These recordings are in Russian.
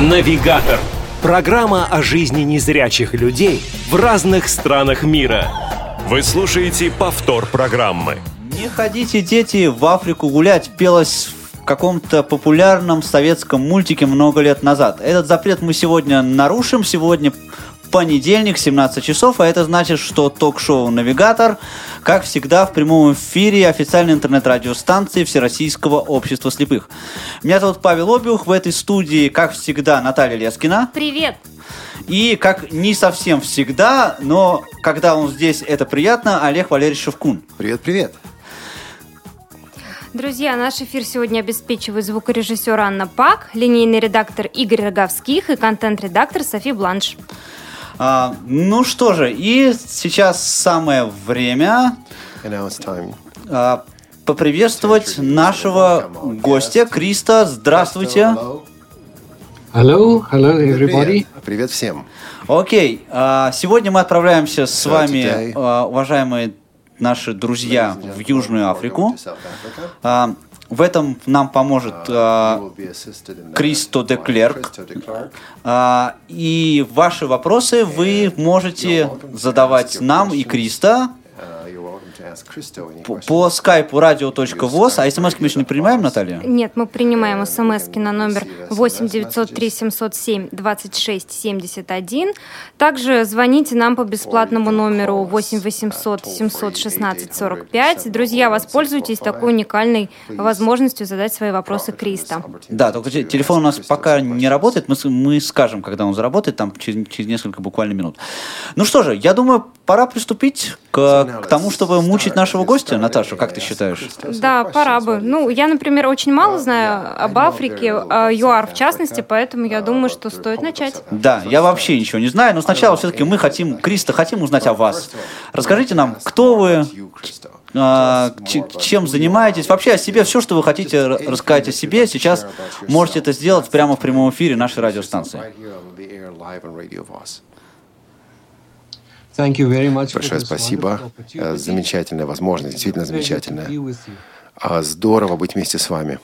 Навигатор. Программа о жизни незрячих людей в разных странах мира. Вы слушаете повтор программы. Не ходите, дети, в Африку гулять, пелось в каком-то популярном советском мультике много лет назад. Этот запрет мы сегодня нарушим. Сегодня понедельник, 17 часов, а это значит, что ток-шоу «Навигатор», как всегда, в прямом эфире официальной интернет-радиостанции Всероссийского общества слепых. Меня зовут Павел Обиух, в этой студии, как всегда, Наталья Лескина. Привет! И, как не совсем всегда, но когда он здесь, это приятно, Олег Валерьевич Шевкун. Привет-привет! Друзья, наш эфир сегодня обеспечивает звукорежиссер Анна Пак, линейный редактор Игорь Роговских и контент-редактор Софи Бланш. Ну что же, и сейчас самое время поприветствовать нашего гостя Криста. Здравствуйте. Hello everybody. Привет всем. Окей, сегодня мы отправляемся с вами, уважаемые наши друзья, в Южную Африку. В этом нам поможет Кристо де Клерк. И ваши вопросы вы можете задавать нам и Кристо по скайпу radio.voz. А смс-ки мы еще не принимаем, Наталья? Нет, мы принимаем смс-ки на номер 8 903 707 26 71. Также звоните нам по бесплатному номеру 8 800 716 45. Друзья, воспользуйтесь такой уникальной возможностью задать свои вопросы Кристо. Да, только телефон у нас пока не работает. Мы скажем, когда он заработает, там через несколько буквально минут. Ну что же, я думаю, пора приступить к тому, чтобы мучить нашего гостя. Наташа, как ты считаешь? Да, пора бы. Ну, я, например, очень мало знаю об Африке, о ЮАР в частности, поэтому я думаю, что стоит начать. Да, я вообще ничего не знаю, но сначала все-таки мы хотим, Кристо, хотим узнать о вас. Расскажите нам, кто вы, чем занимаетесь, вообще о себе, все, что вы хотите рассказать о себе, сейчас можете это сделать прямо в прямом эфире нашей радиостанции. Большое спасибо. Замечательная возможность, действительно замечательная. Здорово быть вместе с вами.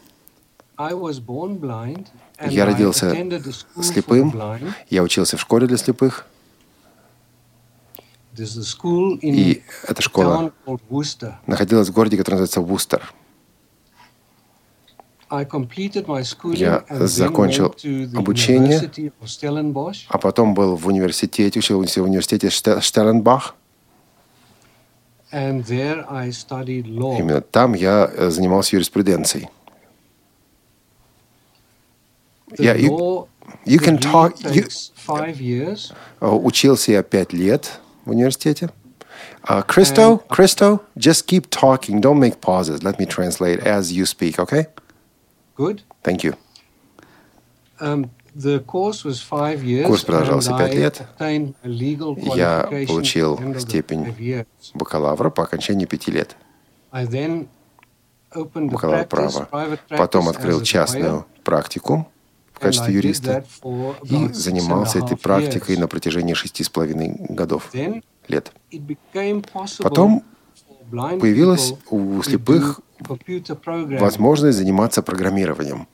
Я родился слепым, я учился в школе для слепых. И эта школа находилась в городе, который называется Вустер. Я закончил обучение, а потом был в университете, учился в университете Штелленбах. Именно там я занимался юриспруденцией. Учился я 5 лет в университете. Christo, just keep talking. Don't make pauses. Let me translate as you speak, okay? Good. Thank you. Курс продолжался 5 лет. Я получил степень бакалавра по окончании 5 лет. Бакалавр права. Потом открыл частную практику в качестве юриста и занимался этой практикой на протяжении 6,5 лет. Потом появилась у слепых возможность заниматься программированием.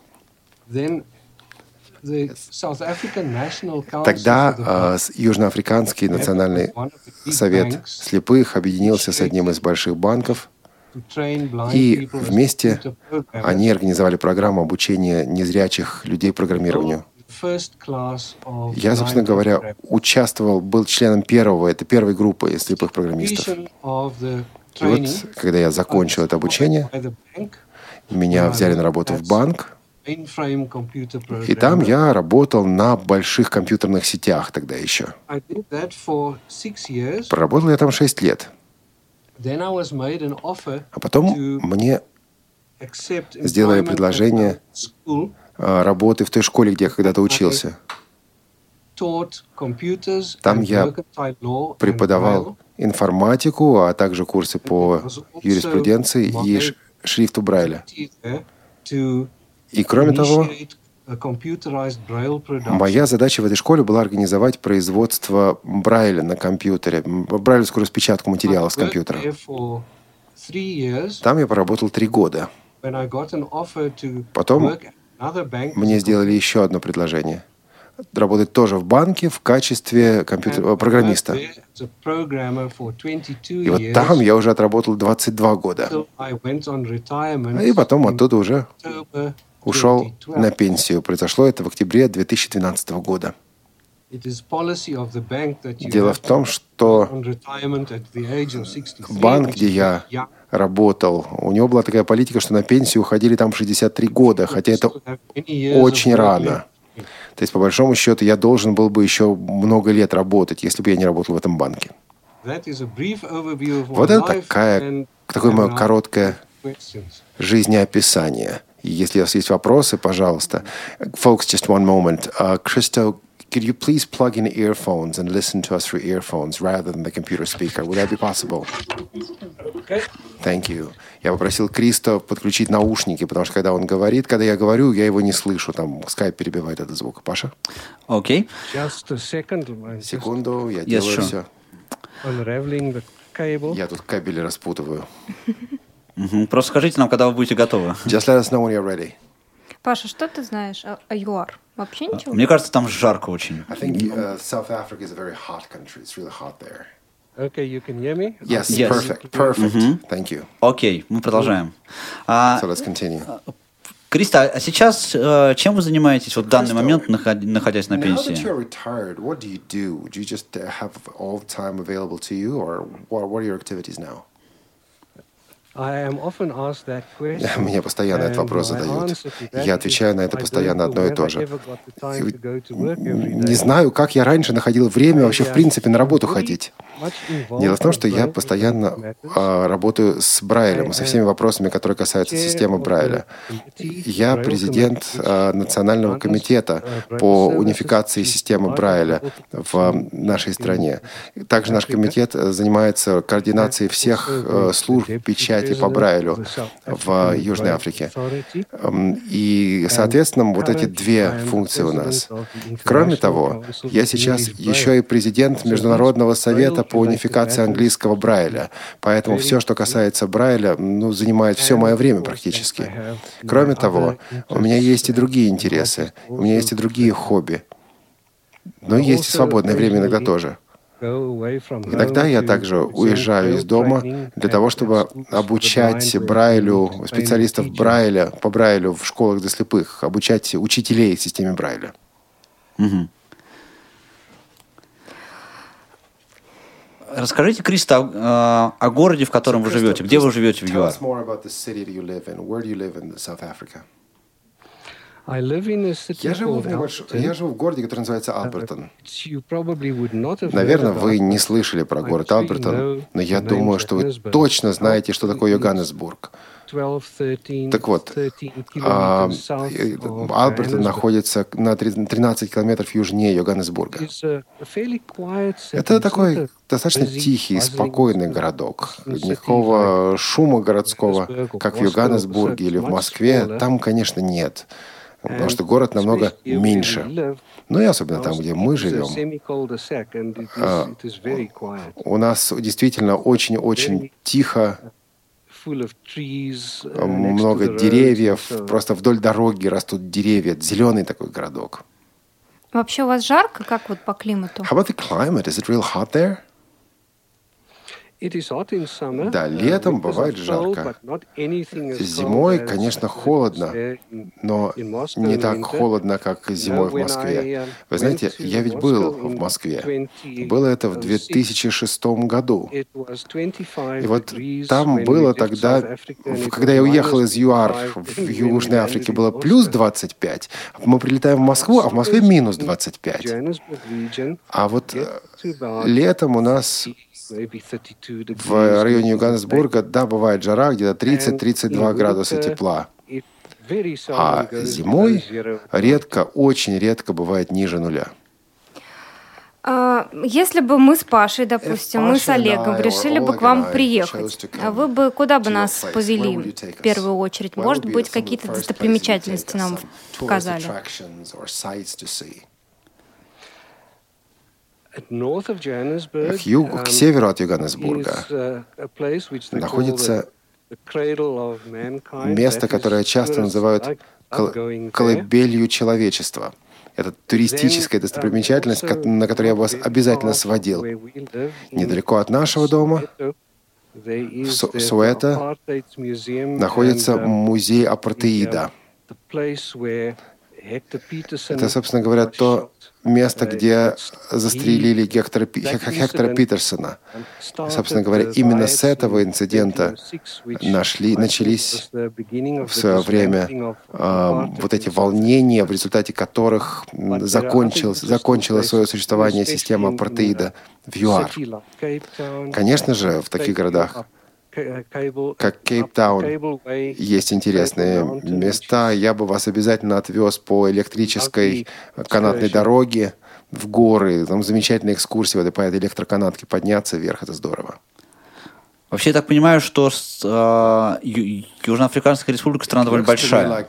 Тогда Южноафриканский национальный совет слепых объединился с одним из больших банков, и вместе они организовали программу обучения незрячих людей программированию. Я, собственно говоря, был членом первой группы слепых программистов. И вот, когда я закончил это обучение, меня взяли на работу в банк, и там я работал на больших компьютерных сетях тогда еще. Проработал я там 6 лет. А потом мне сделали предложение работы в той школе, где я когда-то учился. Там я преподавал информатику, а также курсы по юриспруденции и шрифту Брайля. И кроме того, моя задача в этой школе была организовать производство Брайля на компьютере, брайлевскую распечатку материалов с компьютера. Там я поработал 3 года. Потом мне сделали еще одно предложение. Работать тоже в банке в качестве программиста. И вот там я уже отработал 22 года. И потом оттуда уже ушел на пенсию. Произошло это в октябре 2012 года. Дело в том, что банк, где я работал, у него была такая политика, что на пенсию уходили там в 63 года, хотя это очень рано. То есть, по большому счету, я должен был бы еще много лет работать, если бы я не работал в этом банке. Вот это такое мое короткое жизнеописание. И если у вас есть вопросы, пожалуйста. Folks, just one moment. Christo, could you please plug in earphones and listen to us through earphones rather than the computer speaker? Would that be possible? Thank you. Я попросил Кристо подключить наушники, потому что когда он говорит, когда я говорю, я его не слышу. Там скайп перебивает этот звук. Паша? Окей. Секунду, я делаю все. Unraveling the cable. Я тут кабели распутываю. Просто скажите нам, когда вы будете готовы. Just let us know when you're ready. Паша, что ты знаешь о ЮАР? Вообще ничего? Мне кажется, там жарко очень. I think South Africa is a very hot country. It's really hot there. Okay, you can hear me? Yes, Yes. perfect. Thank you. Окей, мы продолжаем. So let's continue. Криста, а сейчас чем вы занимаетесь в данный момент, находясь на Now that пенсии? you're retired, what do you do? Do you just have all the time available to you, or what are your activities now? I am often asked that question. Мне постоянно этот вопрос задают. Я отвечаю на это постоянно одно и то же. Не знаю, как я раньше находил время вообще в принципе на работу ходить. Дело в том, что я постоянно работаю с Брайлем, со всеми вопросами, которые касаются системы Брайля. Я президент Национального комитета по унификации системы Брайля в нашей стране. Также наш комитет занимается координацией всех служб печати по Брайлю в Южной Африке. И, соответственно, вот эти две функции у нас. Кроме того, я сейчас еще и президент Международного совета по унификации английского Брайля. Поэтому все, что касается Брайля, занимает все мое время практически. Кроме того, у меня есть и другие интересы, у меня есть и другие хобби. Но есть и свободное время иногда тоже. Иногда я также уезжаю из дома для того, чтобы обучать Брайлю, специалистов Брайля, по Брайлю в школах для слепых, обучать учителей в системе Брайля. Расскажите, Криста, о городе, в котором вы живете. Где вы живете в ЮАР? I live in a city Я живу called в городе, который называется Албертон. You probably would not have Наверное, heard вы about не it. слышали про город Албертон, но я думаю, что вы точно знаете, что такое Йоханнесбург. 12, 13, Так вот, 13 kilometers south of Албертон Johannesburg. находится на 13 километров южнее Йоханнесбурга. It's a fairly quiet city. Это такой It's not достаточно busy, тихий, buzzing спокойный городок. Никакого шума городского, как в Йоханнесбурге или в Москве, там, конечно, нет. Потому что город намного меньше. Ну и особенно там, где мы живем. У нас действительно очень-очень тихо, много деревьев, просто вдоль дороги растут деревья, зеленый такой городок. Вообще у вас жарко, как вот по климату? How about the climate? Is it real hot there? Да, летом бывает жарко. Зимой, конечно, холодно, но не так холодно, как зимой в Москве. Вы знаете, я ведь был в Москве. Было это в 2006 году. И вот там было тогда, когда я уехал из ЮАР в Южной Африке, было плюс 25. Мы прилетаем в Москву, а в Москве минус 25. А вот летом у нас в районе Йоханнесбурга, да, бывает жара, где-то 30-32 градуса тепла. А зимой редко, очень редко бывает ниже нуля. Если бы мы с Пашей, допустим, мы с Олегом решили бы к вам приехать, вы бы куда бы нас повели в первую очередь? Может быть, какие-то достопримечательности нам показали? К северу от Йоханнесбурга находится место, которое часто называют колыбелью человечества. Это туристическая достопримечательность, на которую я бы вас обязательно сводил. Недалеко от нашего дома, в Суэто, находится музей апартеида. Это, собственно говоря, то место, где застрелили Гектора Питерсона. Собственно говоря, именно с этого инцидента начались в свое время вот эти волнения, в результате которых закончила свое существование система апартеида в ЮАР. Конечно же, в таких городах, как Кейптаун, есть интересные места. Я бы вас обязательно отвез по электрической канатной дороге в горы. Там замечательная экскурсия по этой электроканатке. Подняться вверх — это здорово. Вообще, я так понимаю, что Южноафриканская республика страна довольно большая.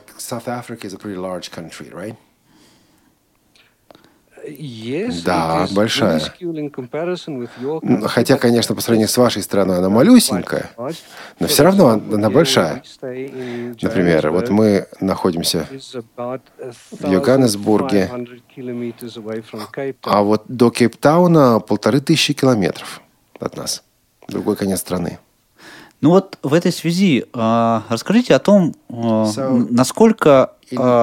Да, большая. Хотя, конечно, по сравнению с вашей страной она малюсенькая, но все равно она большая. Например, вот мы находимся в Йоханнесбурге, а вот до Кейптауна 1500 километров от нас, другой конец страны. Ну вот в этой связи расскажите о том, насколько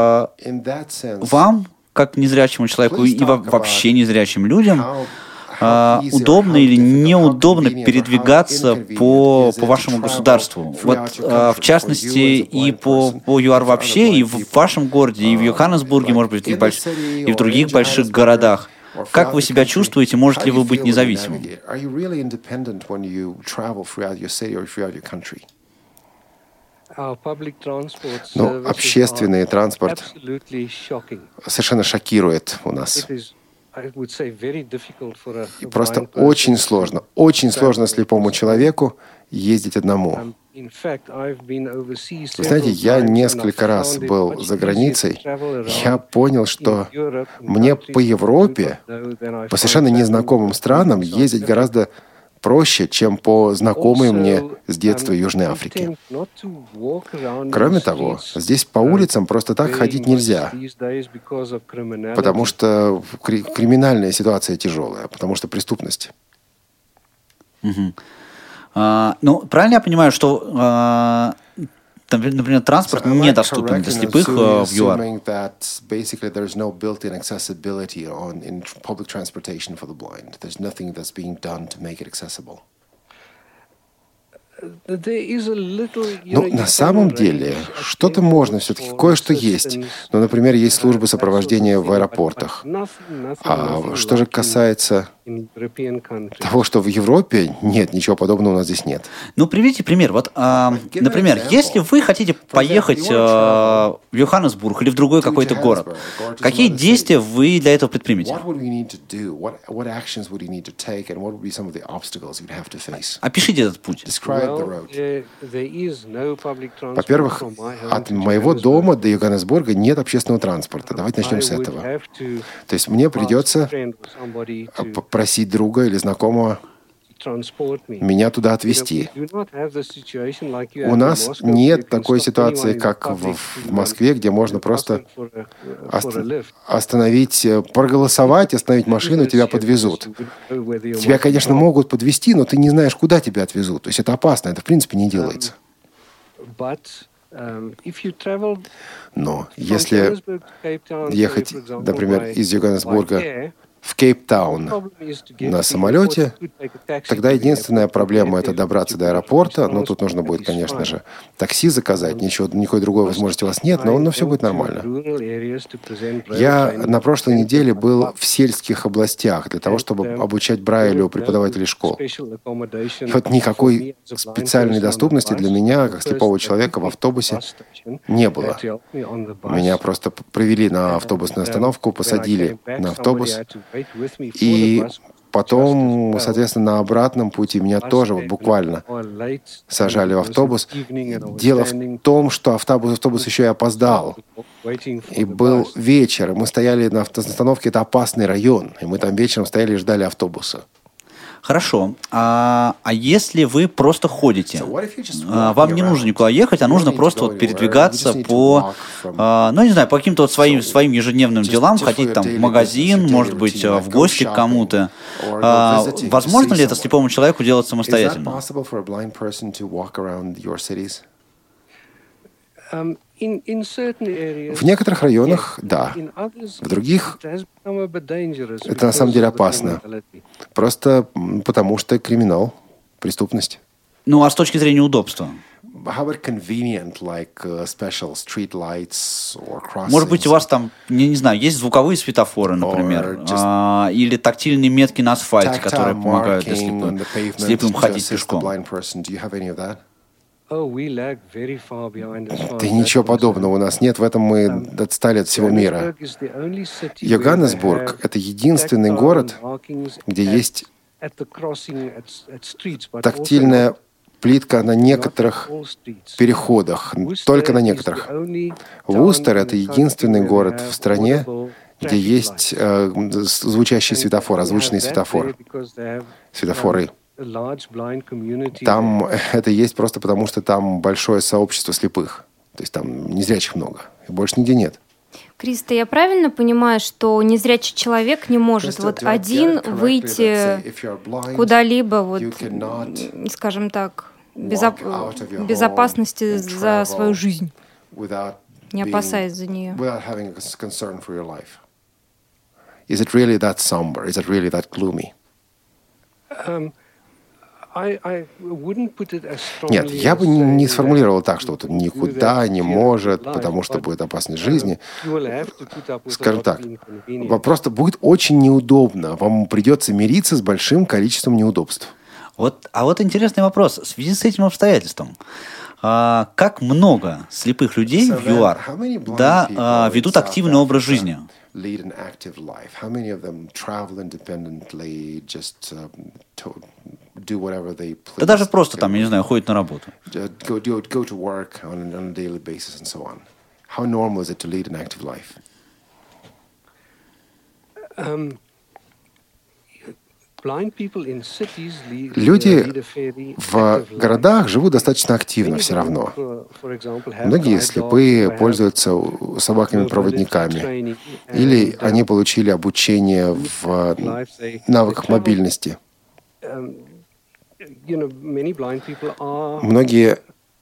вам, как незрячему человеку и вообще незрячим людям, удобно или неудобно передвигаться по вашему государству. Вот, в частности, и по ЮАР вообще, и в вашем городе, и в Йоханнесбурге, может быть, и в других больших городах. Как вы себя чувствуете? Можете ли вы быть независимым? Ну, общественный транспорт совершенно шокирует у нас. И просто очень сложно слепому человеку ездить одному. Вы знаете, я несколько раз был за границей. Я понял, что мне по Европе, по совершенно незнакомым странам ездить гораздо проще, чем по знакомой мне с детства Южной Африке. Кроме того, здесь по улицам просто так ходить нельзя, потому что криминальная ситуация тяжелая, потому что преступность. Угу. Ну, правильно я понимаю, что, например, транспорт недоступен для слепых в ЮАР? Ну, на самом деле, что-то можно все-таки, кое-что есть. Ну, например, есть службы сопровождения в аэропортах. А что же касается того, что в Европе, нет, ничего подобного у нас здесь нет. Ну, приведите пример. Вот, например, если вы хотите поехать в Йоханнесбург или в другой какой-то город, какие действия вы для этого предпримете? Опишите этот путь. Во-первых, от моего дома до Йоханнесбурга нет общественного транспорта. Давайте начнем с этого. То есть мне придется попросить друга или знакомого меня туда отвезти. У нас нет такой ситуации, как в Москве, где можно просто остановить, проголосовать, остановить машину, тебя подвезут. Тебя, конечно, могут подвезти, но ты не знаешь, куда тебя отвезут. То есть это опасно, это в принципе не делается. Но если ехать, например, из Йоханнесбурга в Кейптаун на самолете, тогда единственная проблема — это добраться до аэропорта. Но тут нужно будет, конечно же, такси заказать. Никакой другой возможности у вас нет, но все будет нормально. Я на прошлой неделе был в сельских областях для того, чтобы обучать Брайлю преподавателей школ. И вот никакой специальной доступности для меня, как слепого человека, в автобусе не было. Меня просто провели на автобусную остановку, посадили на автобус, и потом, соответственно, на обратном пути меня тоже буквально сажали в автобус. Дело в том, что автобус еще и опоздал. И был вечер, и мы стояли на остановке, это опасный район, и мы там вечером стояли и ждали автобуса. Хорошо. А если вы просто ходите, вам не нужно никуда ехать, а нужно просто вот передвигаться по, ну, не знаю, по каким-то вот своим ежедневным делам, ходить там в магазин, может быть, в гости к кому-то. Возможно ли это слепому человеку делать самостоятельно? В некоторых районах, да. В других это на самом деле опасно. Просто потому что криминал, преступность. Ну, а с точки зрения удобства? Может быть, у вас там, не знаю, есть звуковые светофоры, например, или тактильные метки на асфальте, которые помогают слепым ходить пешком. Да ничего подобного у нас нет, в этом мы отстали от всего мира. Йоханнесбург — это единственный город, где есть тактильная плитка на некоторых переходах, только на некоторых. Вустер — это единственный город в стране, где есть звучащий светофор, озвученный светофор, светофоры. Там это есть просто потому, что там большое сообщество слепых. То есть там незрячих много. И больше нигде нет. Криста, я правильно понимаю, что незрячий человек не может вот один выйти куда-либо, вот, скажем так, безопасности за свою жизнь, не опасаясь за нее? Is it really that somber? Is it really that gloomy? Нет, я бы не сформулировал так, что вот он никуда не может, потому что будет опасность жизни. Скажем так, просто будет очень неудобно. Вам придется мириться с большим количеством неудобств. Вот интересный вопрос. В связи с этим обстоятельством, как много слепых людей в ЮАР ведут активный образ жизни? Lead an active life? How many of them travel independently, just do whatever they please? Да даже просто там, я не знаю, ходят на работу. Go to work on a daily basis and so on. How normal is it to lead an active life? Люди в городах живут достаточно активно все равно. Многие слепые пользуются собаками-проводниками, или они получили обучение в навыках мобильности. Многие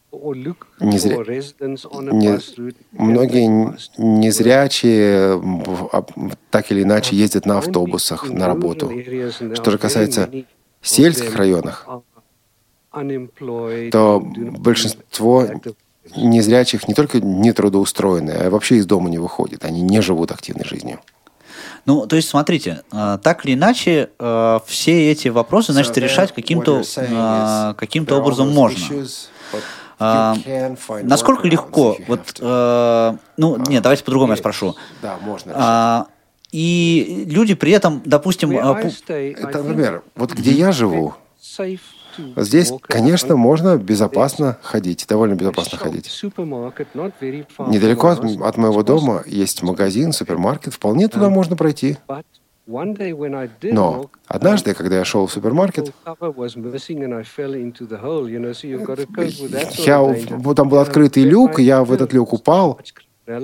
незрячие так или иначе ездят на автобусах на работу. Что же касается сельских районов, то большинство незрячих не только не трудоустроены, а вообще из дома не выходят. Они не живут активной жизнью. Ну, то есть, смотрите, так или иначе, все эти вопросы, значит, решать каким-то образом можно. Насколько легко, давайте по-другому я спрошу. Да, можно. И люди при этом, допустим... Это, например, вот где я живу, здесь, конечно, можно безопасно ходить, довольно безопасно ходить. Недалеко от моего дома есть магазин, супермаркет, вполне туда можно пройти. Но однажды, когда я шел в супермаркет, там был открытый люк, я в этот люк упал. Но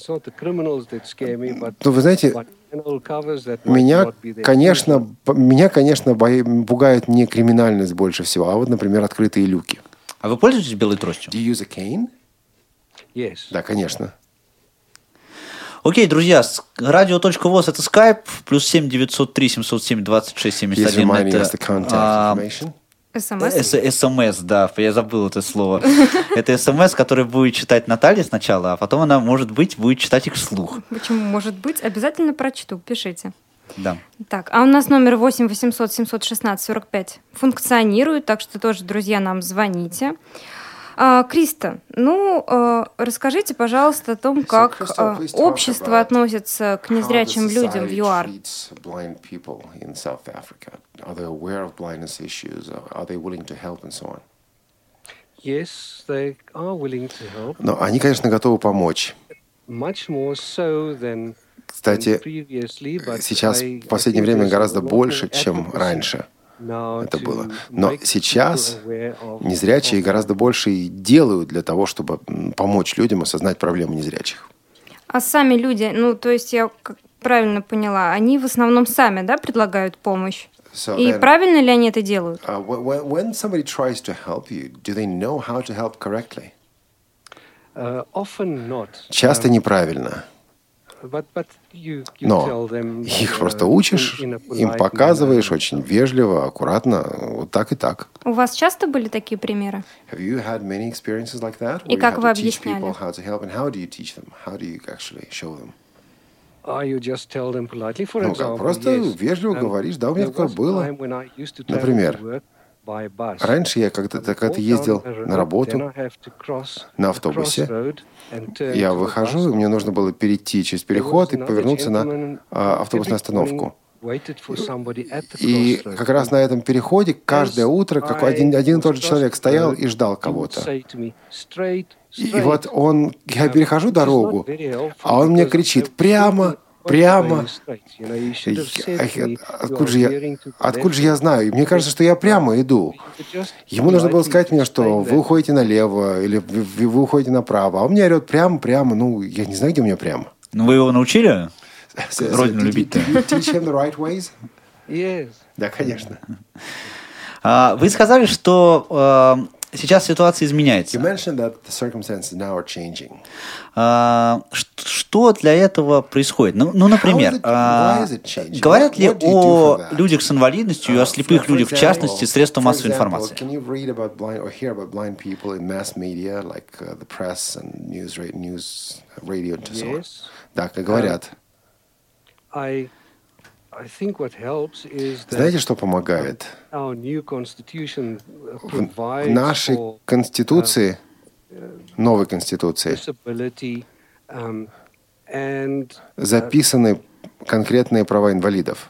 вы знаете, меня, конечно, пугает не криминальность больше всего, а вот, например, открытые люки. А вы пользуетесь белой тростью? Do you use a cane? Yes. Да, конечно. Окей, друзья, радио.воз — это Skype, +7 903 707 26 71 это СМС, да, я забыл это слово. Это СМС, который будет читать Наталья сначала, а потом она, может быть, будет читать их вслух. Почему может быть? Обязательно прочту, пишите. Да. Так, а у нас номер 8 800 716 45 функционирует, так что тоже, друзья, нам звоните. Криста, расскажите, пожалуйста, о том, как общество относится к незрячим людям в ЮАР. Но они, конечно, готовы помочь. Кстати, сейчас в последнее время гораздо больше, чем раньше. это было. Но сейчас незрячие гораздо больше и делают для того, чтобы помочь людям осознать проблемы незрячих. А сами люди, то есть я как правильно поняла, они в основном сами, да, предлагают помощь? И правильно ли они это делают? When somebody tries to help you, do they know how to help correctly? Часто неправильно. Но их просто учишь, им показываешь очень вежливо, аккуратно, вот так и так. У вас часто были такие примеры? И как вы объясняли? Просто вежливо говоришь, да, у меня такое было. Например, раньше я когда-то ездил на работу на автобусе. Я выхожу, и мне нужно было перейти через переход и повернуться на автобусную остановку. И как раз на этом переходе каждое утро один и тот же человек стоял и ждал кого-то. И вот я перехожу дорогу, а он мне кричит: прямо, прямо. Откуда же я знаю? И мне кажется, что я прямо иду. Ему нужно было сказать мне, что вы уходите налево или вы уходите направо. А он мне орет прямо, прямо. Я не знаю, где у меня прямо. Вы его научили родину любить-то? Да, конечно. Вы сказали, что сейчас ситуация изменяется. Что для этого происходит? Например, говорят ли о людях с инвалидностью и о слепых людях, в частности, средства массовой информации? Да, как говорят. Знаете, что помогает? В нашей Конституции, новой Конституции, записаны конкретные права инвалидов.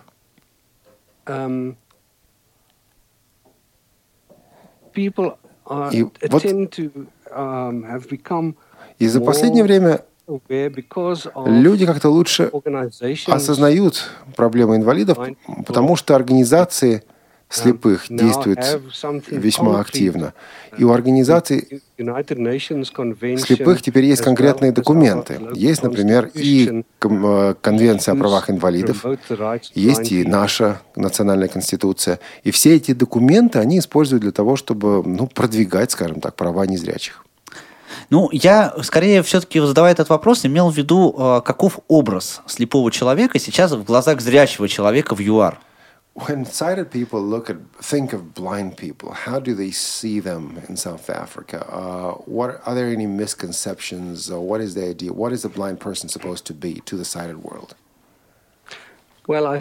И за последнее время люди как-то лучше осознают проблемы инвалидов, потому что организации слепых действуют весьма активно. И у организаций слепых теперь есть конкретные документы. Есть, например, и Конвенция о правах инвалидов, есть и наша национальная конституция. И все эти документы они используют для того, чтобы продвигать, скажем так, права незрячих. Я, скорее, все-таки, задавая этот вопрос, имел в виду, каков образ слепого человека сейчас в глазах зрячего человека в ЮАР. When sighted people think of blind people, how do they see them in South Africa? Are there any misconceptions? What is the idea? What is a blind person supposed to be to the sighted world? На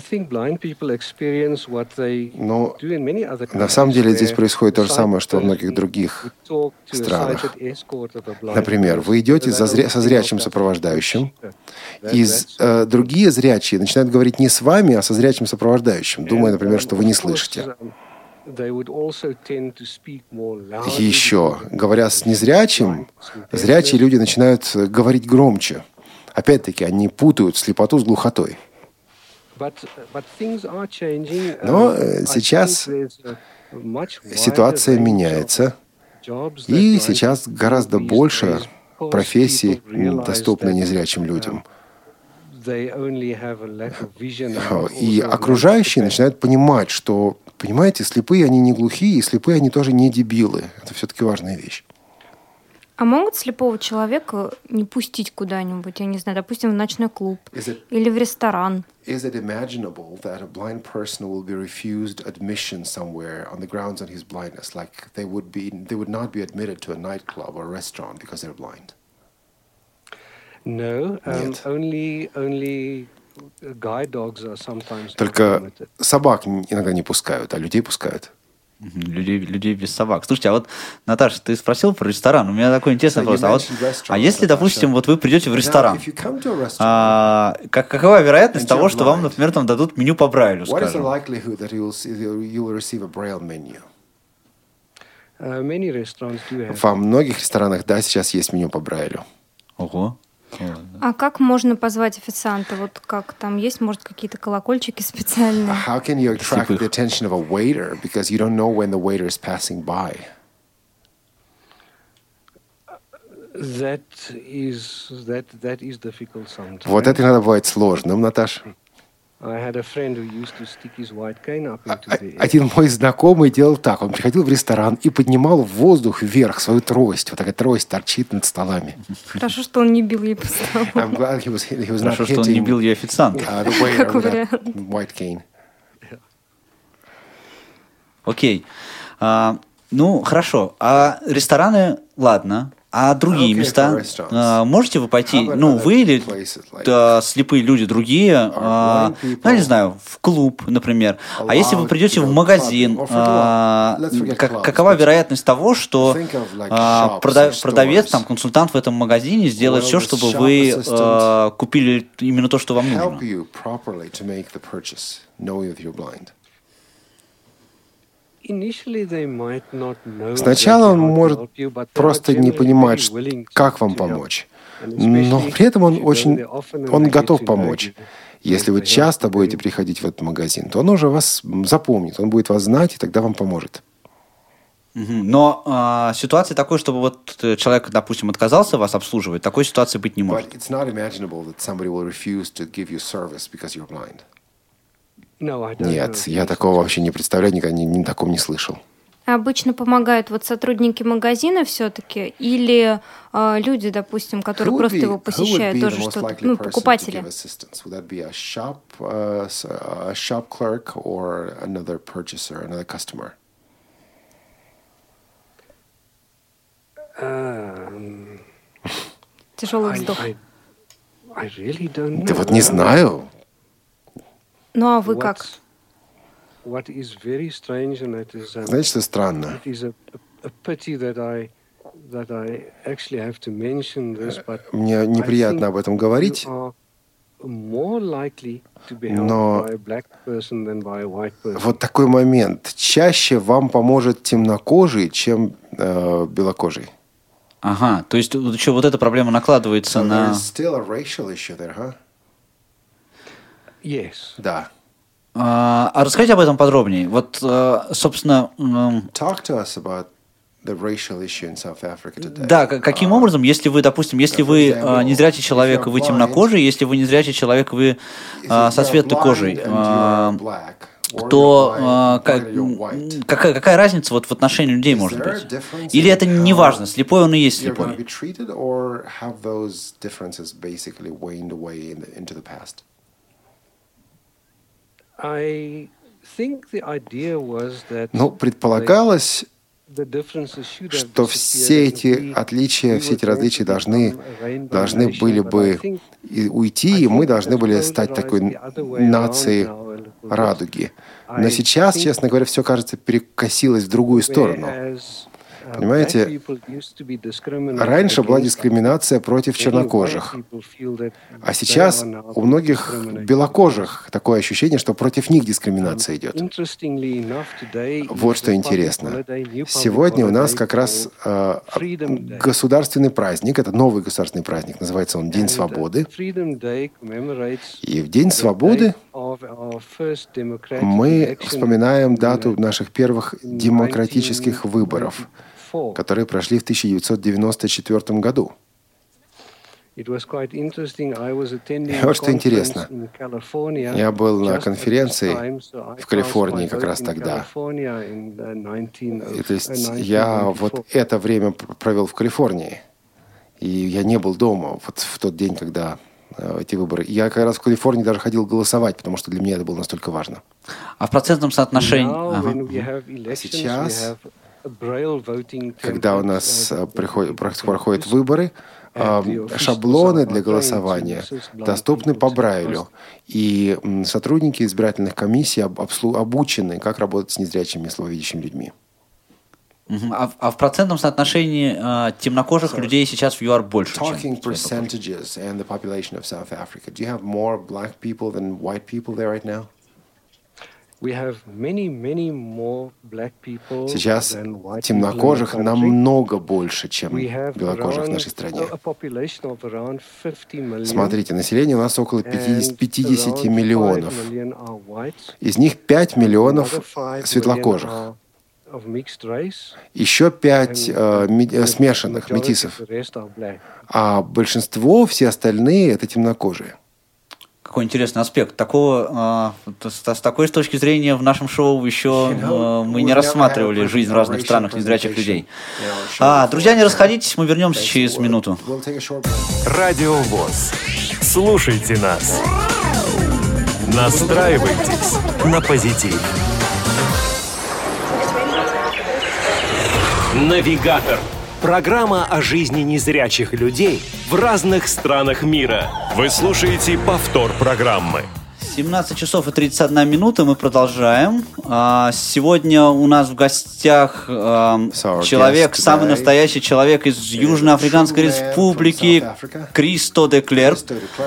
самом деле здесь происходит то же самое, что во многих других странах. Например, вы идете со зрячим сопровождающим, и другие зрячие начинают говорить не с вами, а со зрячим сопровождающим, думая, например, что вы не слышите. Еще, говоря с незрячим, зрячие люди начинают говорить громче. Опять-таки, они путают слепоту с глухотой. Но сейчас ситуация меняется, и сейчас гораздо больше профессий доступны незрячим людям. И окружающие начинают понимать, что, понимаете, слепые они не глухие, и слепые они тоже не дебилы. Это все-таки важная вещь. А могут слепого человека не пустить куда-нибудь, я не знаю, допустим, в ночной клуб или в ресторан? Is it imaginable that a blind person will be refused admission somewhere on the grounds of his blindness, like they would not be admitted to a nightclub or a restaurant because they're blind? No, only guide dogs are sometimes. Только собак иногда не пускают, а людей пускают. Людей без собак. Слушайте, а вот, Наташа, ты спросил про ресторан. У меня такой интересный вопрос. А если, допустим, вот вы придете в ресторан, какова вероятность того, что вам, например, там дадут меню по Брайлю, скажем? Во многих ресторанах, да, сейчас есть меню по Брайлю. Ого. А как можно позвать официанта? Вот как там есть, может, какие-то колокольчики специальные? How can you attract the attention of a waiter because you don't know when the waiter is passing by? That is difficult sometimes. Вот это иногда бывает сложным, Наташ. I had a friend who used to stick his white cane up into the air. Один мой знакомый делал так. Он приходил в ресторан и поднимал в воздух вверх свою трость. Вот такая трость торчит над столами. Хорошо, что он не бил ей по столу. I'm glad he was not Хорошо, что он не бил ее официанта. the waiter Как with that вариант. white cane. Окей. Ну, хорошо. А рестораны, ладно. А другие Okay, места? for restaurants. Можете вы пойти, How about ну, вы или places like слепые люди другие, blind people ну, я не знаю, в клуб, например. А если вы allowed придете to в go магазин, clubbing or for let's forget clubs, какова but вероятность того, что think of like shops or продавец, stores. там, консультант в этом магазине сделает Well, все, the чтобы shop вы assistant купили именно то, что вам help нужно? you properly to make the purchase, knowing that you're blind. Initially they might not know Сначала он exactly how to может help you, but they просто are не generally понимать, very willing как вам to help. помочь. And Но especially при этом он if you go очень, there often and он they get готов to know помочь. you, Если вы they help часто you будете then. приходить в этот магазин, то он уже вас запомнит, он будет вас знать, и тогда вам поможет. Мгм. Но ситуация такой, чтобы вот человек, допустим, отказался вас обслуживать, такой ситуации быть не может. But it's not imaginable that somebody will refuse to give you service because you're blind. No, I don't Нет, know. я такого вообще не представляю, никогда ни таком не слышал. Обычно помогают вот сотрудники магазина все-таки или люди, допустим, которые Who would просто be- его who would посещают, be the тоже most что-то, likely ну, person to покупатели. give assistance? Would that be a shop clerk or another purchaser, another customer? Тяжелый вздох. I really don't know. Да вот не знаю. Ну а вы как? What is very strange, and that is, Знаете, что странно? it is a pity that I actually have to mention this, but Мне неприятно I об этом think говорить, you are more likely to be Но- helped by a black person than by a white person. вот такой момент. Чаще вам поможет темнокожий, чем белокожий. Ага, то есть еще вот эта проблема накладывается So на... there's still a racial issue there, huh? Yes. Да. А расскажите об этом подробнее. Вот, собственно, Talk to us about the racial issue in South Africa today. да, каким образом, если вы, допустим, если вы незрячий человек, и вы темнокожий, если вы незрячий человек, и вы If со you're светлой blind кожей, and you are black, or то you're blind and you're white, какая разница вот в отношении людей Is может there a быть? difference Или in это how не важно, слепой он и есть you're going to be слепой? treated, or have those differences basically waned away into the past? I think the idea was that Ну, предполагалось, the differences should have что все эти отличия, все эти различия должны были бы уйти, и мы должны были стать такой нацией радуги. Но сейчас, честно говоря, все, кажется, перекосилось в другую сторону. Понимаете, раньше была дискриминация против чернокожих, а сейчас у многих белокожих такое ощущение, что против них дискриминация идет. Вот что интересно. Сегодня у нас как раз государственный праздник, это новый государственный праздник, называется он День свободы. И в День свободы мы вспоминаем дату наших первых демократических выборов, которые прошли в 1994 году. И вот что интересно. Я был на конференции в Калифорнии как раз тогда. И, то есть я вот это время провел в Калифорнии. И я не был дома вот в тот день, когда эти выборы. Я как раз в Калифорнии даже ходил голосовать, потому что для меня это было настолько важно. А в процентном соотношении... Сейчас, когда у нас проходят выборы, шаблоны для голосования доступны по Брайлю. И сотрудники избирательных комиссий обучены, как работать с незрячими и слабовидящими людьми. А в процентном соотношении темнокожих людей сейчас в ЮАР больше, чем Talking percentages and the population of South Africa. Do you have more black people than white people there right now? Сейчас темнокожих намного больше, чем белокожих в нашей стране. Смотрите, население у нас около 50 миллионов. Из них 5 миллионов светлокожих. Еще 5 смешанных, метисов. А большинство, все остальные, это темнокожие. Какой интересный аспект. Такого, с такой точки зрения в нашем шоу еще мы не рассматривали жизнь в разных странах незрячих людей. Друзья, не расходитесь, мы вернемся через минуту. Радио ВОС. Слушайте нас. Настраивайтесь на позитив. Навигатор. Программа о жизни незрячих людей в разных странах мира. Вы слушаете повтор программы. 17 часов и 31 минута, мы продолжаем. Сегодня у нас в гостях человек, самый настоящий человек из Южноафриканской Республики, Кристо де Клерк.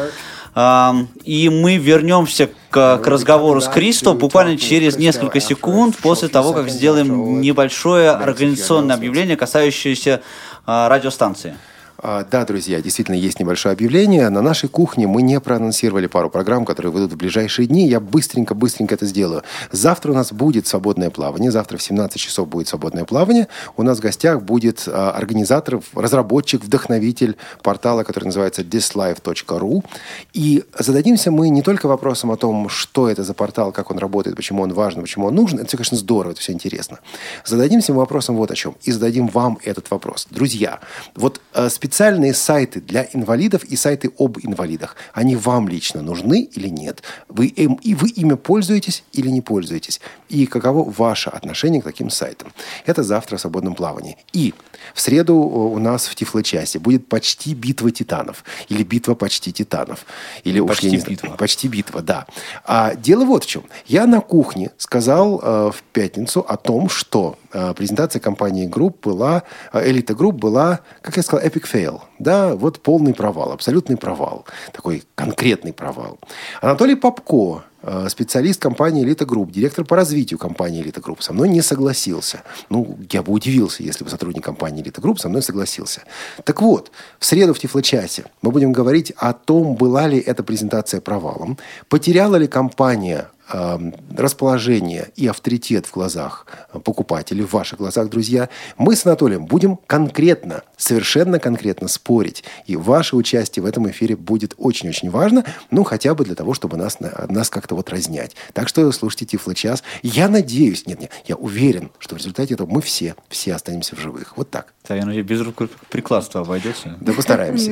И мы вернемся к разговору с Кристо буквально через несколько секунд после того, как сделаем небольшое организационное объявление, касающееся радиостанции. Да, друзья, действительно есть небольшое объявление. На нашей кухне мы не проанонсировали пару программ, которые выйдут в ближайшие дни. Я быстренько это сделаю. Завтра у нас будет свободное плавание. Завтра в 17 часов будет свободное плавание. У нас в гостях будет организатор, разработчик, вдохновитель портала, который называется thislife.ru. И зададимся мы не только вопросом о том, что это за портал, как он работает, почему он важен, почему он нужен. Это все, конечно, здорово, это все интересно. Зададимся мы вопросом вот о чем. И зададим вам этот вопрос. Друзья, вот специальные сайты для инвалидов и сайты об инвалидах, они вам лично нужны или нет? Вы ими пользуетесь или не пользуетесь? И каково ваше отношение к таким сайтам? Это завтра в свободном плавании. И в среду у нас в Тифло-часе будет почти битва титанов. Или битва почти титанов. Или почти битва, да. А дело вот в чем. Я на кухне сказал в пятницу о том, что презентация компании Elite Group была, как я сказал, epic fail. Да, вот полный провал, абсолютный провал. Такой конкретный провал. Анатолий Попко, специалист компании Elite Group, директор по развитию компании Elite Group, со мной не согласился. Я бы удивился, если бы сотрудник компании Elite Group со мной согласился. Так вот, в среду в Тифло-часе мы будем говорить о том, была ли эта презентация провалом, потеряла ли компания расположение и авторитет в глазах покупателей, в ваших глазах, друзья. Мы с Анатолием будем совершенно конкретно спорить. И ваше участие в этом эфире будет очень-очень важно, хотя бы для того, чтобы нас как-то разнять. Так что слушайте Тифло-час. Я надеюсь, я уверен, что в результате этого мы все останемся в живых. Вот так. Да, я надеюсь, без рукоприкладства обойдется. Да, постараемся.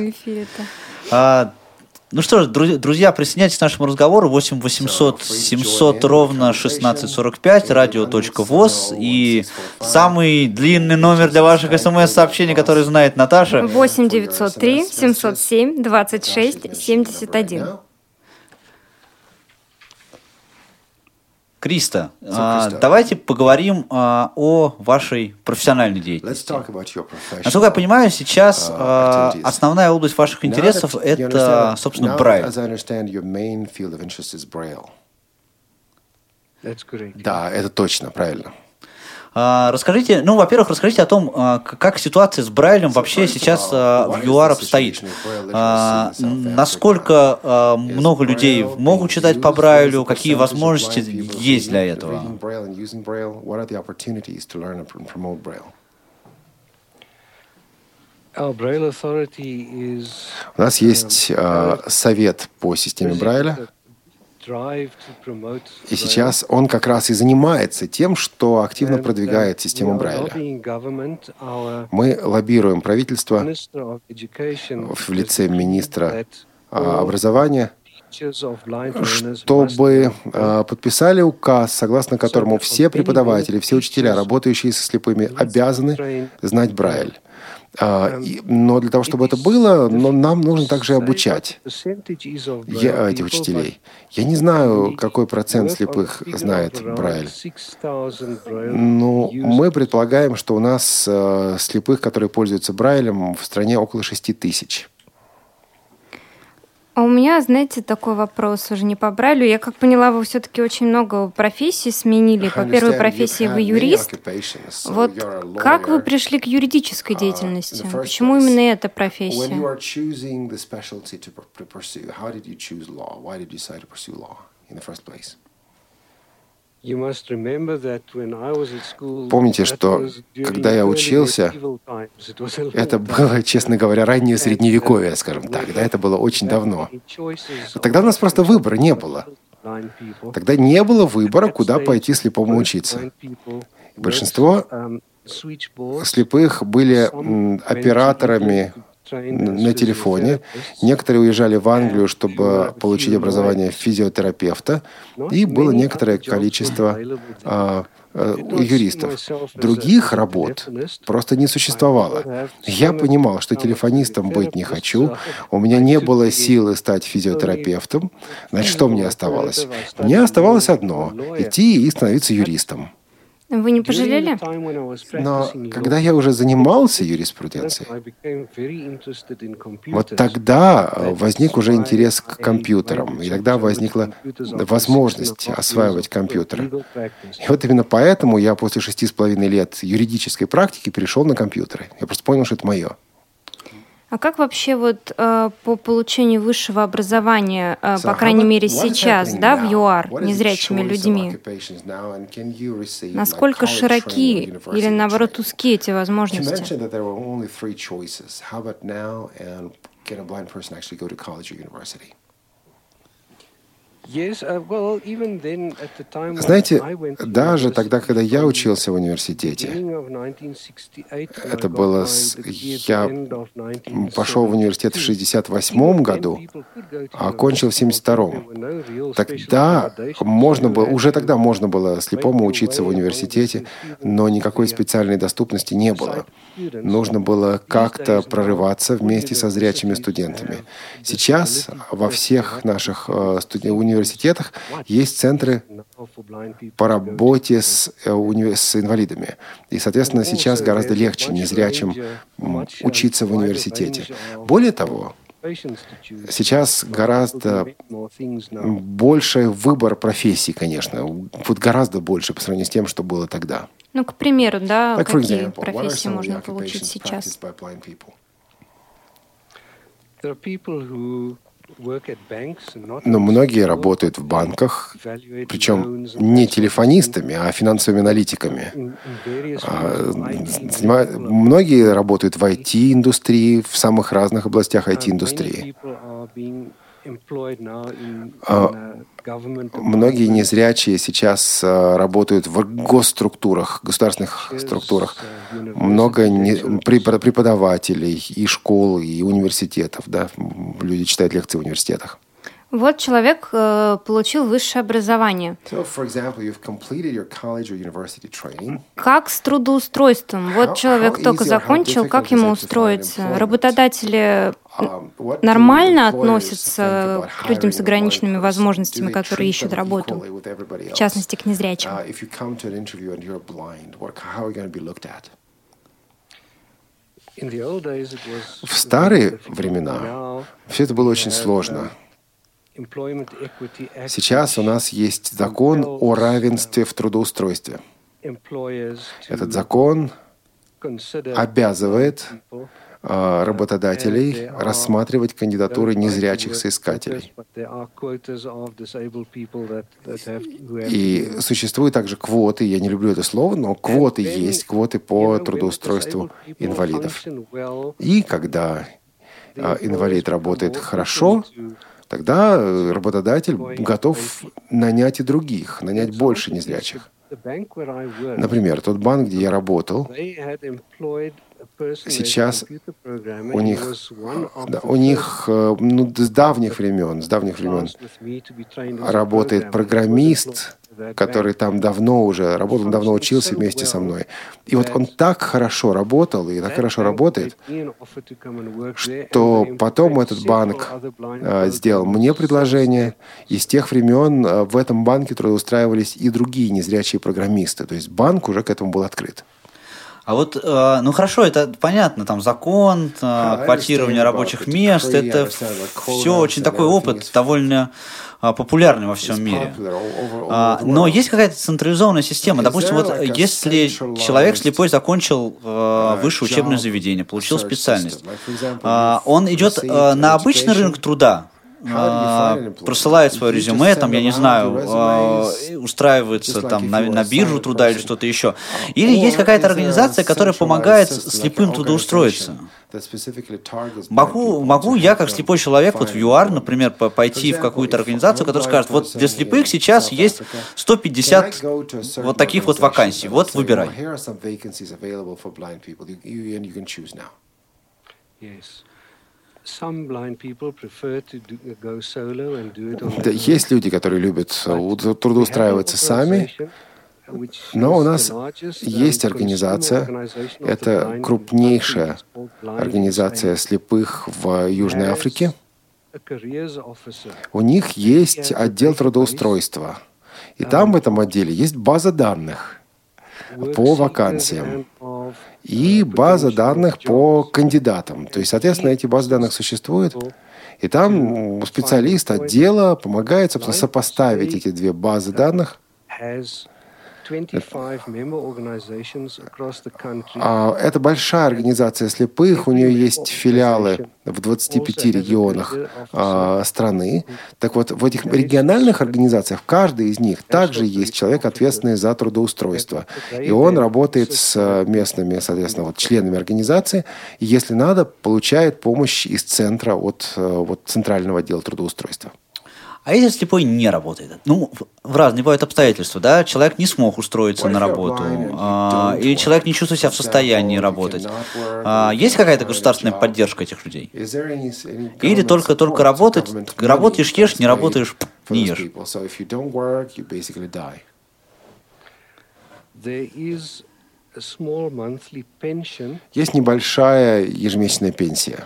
Ну что ж, друзья, присоединяйтесь к нашему разговору. 8 800 700 ровно 1645, радио.воз. И самый длинный номер для ваших СМС-сообщений, который знает Наташа. 8 903 707 26 71. Кристо, давайте поговорим о вашей профессиональной деятельности. Насколько я понимаю, сейчас основная область ваших интересов – это, собственно, Брайль. Да, это точно, правильно. Расскажите, во-первых, расскажите о том, как ситуация с Брайлем вообще сейчас в ЮАР обстоит. Насколько много людей могут читать по Брайлю, какие возможности есть для этого? У нас есть совет по системе Брайля. И сейчас он как раз и занимается тем, что активно продвигает систему Брайля. Мы лоббируем правительство в лице министра образования, чтобы подписали указ, согласно которому все преподаватели, все учителя, работающие со слепыми, обязаны знать Брайль. Но для того, чтобы это было, нам нужно также обучать этих учителей. Я не знаю, какой процент слепых знает Брайль. Но мы предполагаем, что у нас слепых, которые пользуются Брайлем, в стране около 6 тысяч. А у меня, знаете, такой вопрос уже не по Брайлю. Я как поняла, вы все-таки очень много профессий сменили. По первой профессии вы юрист. Вот как вы пришли к юридической деятельности? Почему именно эта профессия? Помните, что когда я учился, это было, честно говоря, раннее средневековье, скажем так. Да, это было очень давно. Тогда у нас просто выбора не было. Тогда не было выбора, куда пойти слепому учиться. Большинство слепых были операторами на телефоне. Некоторые уезжали в Англию, чтобы получить образование физиотерапевта, и было некоторое количество юристов. Других работ просто не существовало. Я понимал, что телефонистом быть не хочу, у меня не было силы стать физиотерапевтом. Значит, что мне оставалось? Мне оставалось одно – идти и становиться юристом. Вы не пожалели? Но когда я уже занимался юриспруденцией, вот тогда возник уже интерес к компьютерам, и тогда возникла возможность осваивать компьютеры. И вот именно поэтому я после 6,5 лет юридической практики перешел на компьютеры. Я просто понял, что это мое. А как вообще вот по получению высшего образования, по крайней мере сейчас, да, в ЮАР, незрячими людьми, насколько широки или, наоборот, узкие эти возможности? Знаете, даже тогда, когда я учился в университете, это было... Я пошел в университет в 1968 году, а окончил в 1972. Тогда уже тогда можно было слепому учиться в университете, но никакой специальной доступности не было. Нужно было как-то прорываться вместе со зрячими студентами. Сейчас во всех наших университетах есть центры по работе с инвалидами. И, соответственно, сейчас гораздо легче незрячим учиться в университете. Более того, сейчас гораздо больше выбор профессий, конечно. Вот гораздо больше по сравнению с тем, что было тогда. Ну, к примеру, да, какие профессии можно получить сейчас? Но многие работают в банках, причем не телефонистами, а финансовыми аналитиками. Многие работают в IT-индустрии, в самых разных областях IT-индустрии. Многие незрячие сейчас работают в госструктурах, государственных структурах. Много преподавателей и школ, и университетов. Да? Люди читают лекции в университетах. Вот человек получил высшее образование. Как с трудоустройством? Вот человек только закончил, как ему устроиться? Работодатели нормально относятся к людям с ограниченными возможностями, которые ищут работу, в частности, к незрячим? В старые времена все это было очень сложно. Сейчас у нас есть закон о равенстве в трудоустройстве. Этот закон обязывает работодателей рассматривать кандидатуры незрячих соискателей. И существуют также квоты, я не люблю это слово, но квоты есть, квоты по трудоустройству инвалидов. И когда инвалид работает хорошо, тогда работодатель готов нанять и других, нанять больше незрячих. Например, тот банк, где я работал, сейчас у них с давних времен работает программист, который там давно уже работал, давно учился вместе со мной. И вот он так хорошо работал и так хорошо работает, что потом этот банк сделал мне предложение, и с тех времен в этом банке трудоустраивались и другие незрячие программисты. То есть банк уже к этому был открыт. А вот, ну хорошо, это понятно, там закон, квотирование рабочих мест, это все очень такой опыт, довольно популярный во всем мире. Но есть какая-то централизованная система. Допустим, вот если человек слепой закончил высшее учебное заведение, получил специальность, он идет на обычный рынок труда, присылает свое резюме, там, я не знаю, устраивается там на биржу труда или что-то еще. Или есть какая-то организация, которая помогает слепым трудоустроиться. Могу я, как слепой человек, вот в ЮАР, например, пойти в какую-то организацию, которая скажет, вот для слепых сейчас есть 150 вот таких вот вакансий, вот выбирай. Да, есть люди, которые любят трудоустраиваться сами, но у нас есть организация, это крупнейшая организация слепых в Южной Африке. У них есть отдел трудоустройства, и там в этом отделе есть база данных по вакансиям и база данных по кандидатам. То есть, соответственно, эти базы данных существуют, и там специалист отдела помогает, собственно, сопоставить эти две базы данных. Это большая организация слепых, у нее есть филиалы в 25 регионах страны. Так вот, в этих региональных организациях, в каждой из них также есть человек, ответственный за трудоустройство. И он работает с местными, соответственно, вот, членами организации, и, если надо, получает помощь из центра от центрального отдела трудоустройства. А если слепой не работает? Ну, в разные бывают обстоятельства, да? Человек не смог устроиться на работу, или человек не чувствует себя в состоянии работать. Есть какая-то государственная поддержка этих людей? Или только работать, работаешь, ешь, не работаешь, не ешь? Есть небольшая ежемесячная пенсия.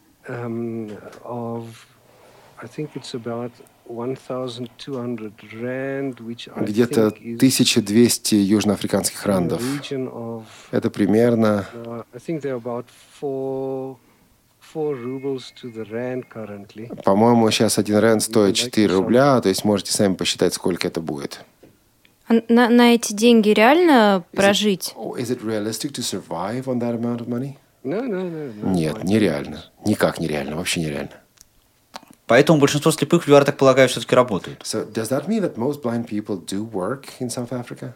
Где-то 1200 южноафриканских рандов. Это примерно... По-моему, сейчас 1 ранд стоит 4 рубля, то есть можете сами посчитать, сколько это будет. На эти деньги реально прожить? Нет, нереально. Никак нереально, вообще нереально. Поэтому большинство слепых в ЮАР, так полагаю, все-таки работают. So does that mean that most blind people do work in South Africa?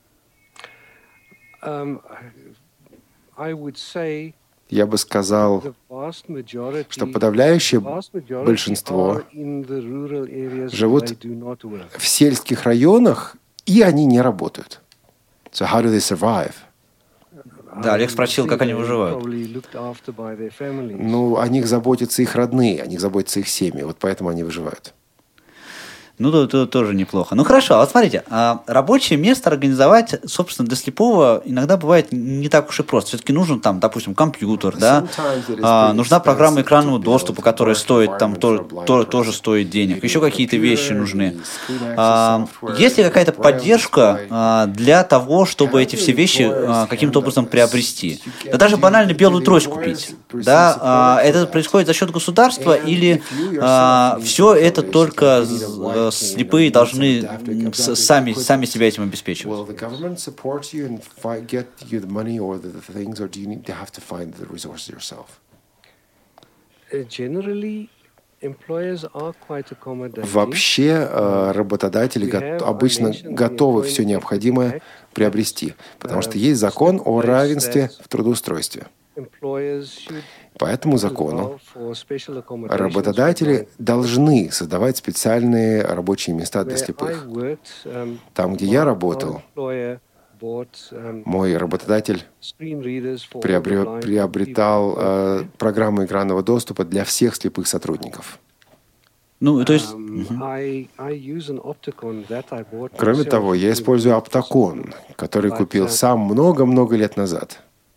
Я бы сказал, что подавляющее большинство живут в сельских районах, и они не работают. So how do they survive? Да, Олег спросил, как они выживают. Ну, о них заботятся их родные, о них заботятся их семьи, вот поэтому они выживают. Ну, это тоже неплохо. Ну, хорошо, вот смотрите, рабочее место организовать, собственно, для слепого иногда бывает не так уж и просто. Все-таки нужен там, допустим, компьютер, да, нужна программа экранного доступа, которая стоит, там, тоже стоит денег, еще какие-то вещи нужны. Есть ли какая-то поддержка для того, чтобы эти все вещи каким-то образом приобрести? Да даже банально белую трость купить, да, это происходит за счет государства или все это только слепые должны сами себя этим обеспечивать? Вообще работодатели обычно готовы все необходимое приобрести, потому что есть закон о равенстве в трудоустройстве. По этому закону работодатели должны создавать специальные рабочие места для слепых. Там, где я работал, мой работодатель приобретал программу экранного доступа для всех слепых сотрудников. Ну, то есть... Кроме того, я использую Optacon, который купил сам много-много лет назад.